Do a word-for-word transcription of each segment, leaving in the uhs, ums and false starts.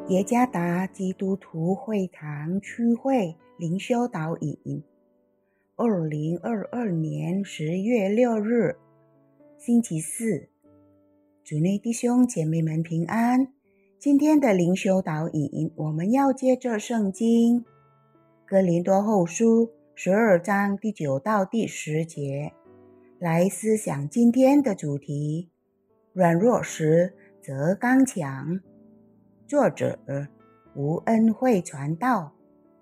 耶加达基督徒会堂区会灵修导引，二零二二年十月六日，星期四。主内弟兄姐妹们平安。今天的灵修导引，我们要接着圣经哥林多后书十二章第九到第十节，来思想今天的主题：软弱时则刚强。作者吴恩惠传道。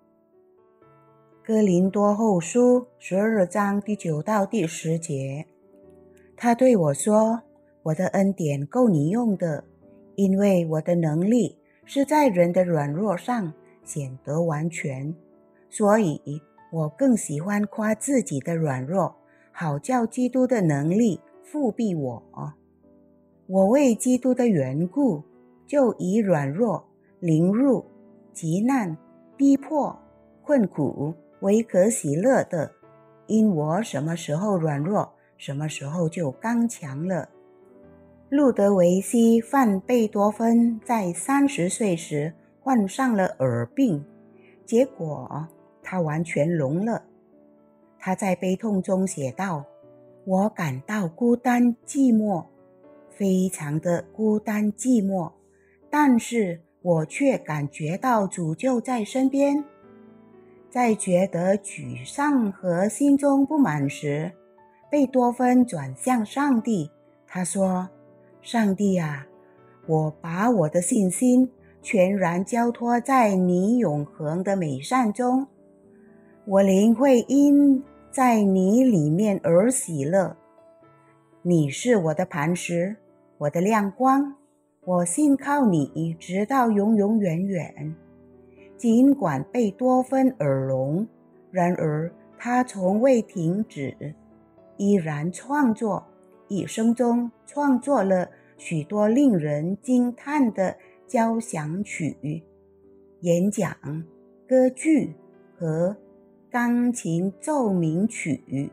哥林多后书十二章第九到第十节，他对我说，我的恩典够你用的，因为我的能力是在人的软弱上显得完全，所以我更喜欢夸自己的软弱，好叫基督的能力复庇我。我为基督的缘故，就以软弱、凌辱、急难、逼迫、困苦为可喜乐的，因我什么时候软弱，什么时候就刚强了。路德维希·范贝多芬在三十岁时患上了耳病，结果他完全聋了。他在悲痛中写道，我感到孤单寂寞，非常的孤单寂寞，但是我却感觉到主就在身边。在觉得沮丧和心中不满时，贝多芬转向上帝，他说，上帝啊，我把我的信心全然交托在你永恒的美善中，我灵会因在你里面而喜乐。你是我的磐石，我的亮光，我信靠你直到永永远远。尽管贝多芬耳聋，然而他从未停止，依然创作，一生中创作了许多令人惊叹的交响曲、演讲、歌剧和钢琴奏鸣曲。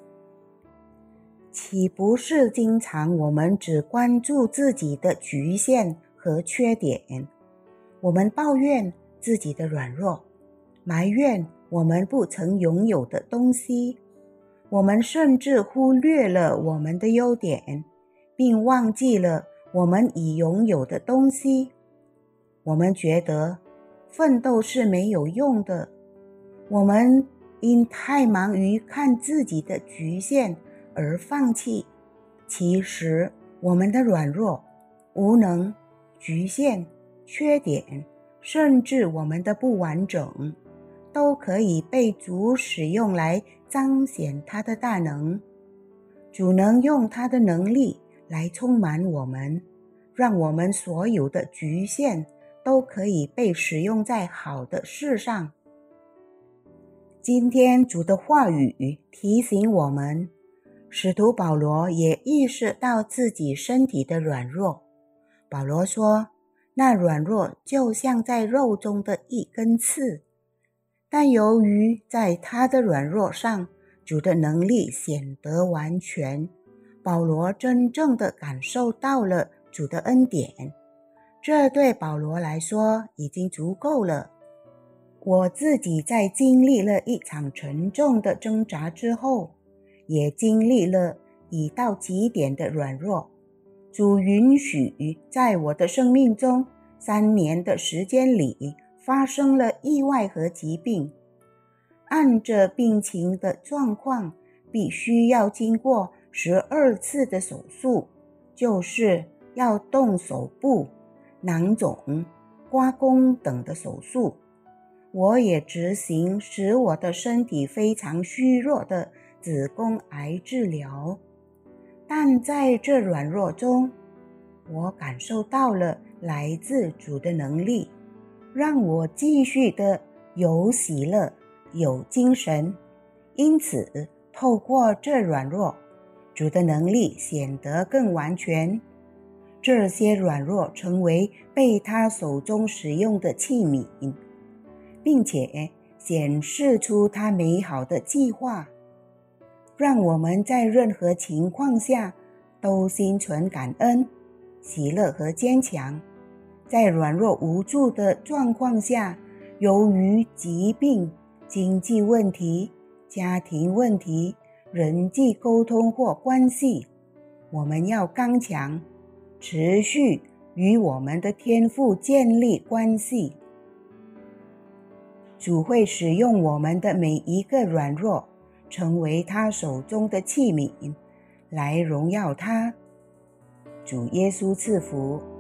岂不是经常我们只关注自己的局限和缺点？我们抱怨自己的软弱，埋怨我们不曾拥有的东西，我们甚至忽略了我们的优点，并忘记了我们已拥有的东西。我们觉得奋斗是没有用的，我们因太忙于看自己的局限而放弃。其实我们的软弱、无能、局限、缺点，甚至我们的不完整，都可以被主使用来彰显他的大能。主能用他的能力来充满我们，让我们所有的局限都可以被使用在好的事上。今天主的话语提醒我们，使徒保罗也意识到自己身体的软弱。保罗说，那软弱就像在肉中的一根刺，但由于在他的软弱上，主的能力显得完全，保罗真正的感受到了主的恩典。这对保罗来说已经足够了。我自己在经历了一场沉重的挣扎之后，也经历了已到极点的软弱。主允许在我的生命中三年的时间里发生了意外和疾病。按着病情的状况，必须要经过十二次的手术，就是要动手部、囊肿、刮宫等的手术。我也执行使我的身体非常虚弱的子宫癌治疗，但在这软弱中，我感受到了来自主的能力，让我继续的有喜乐、有精神。因此，透过这软弱，主的能力显得更完全。这些软弱成为被他手中使用的器皿，并且显示出他美好的计划，让我们在任何情况下都心存感恩、喜乐和坚强。 在软弱无助的状况下，由于疾病、经济问题、家庭问题、人际沟通或关系，我们要刚强，持续与我们的天父建立关系。主会使用我们的每一个软弱，成为他手中的器皿，来荣耀他。主耶稣赐福。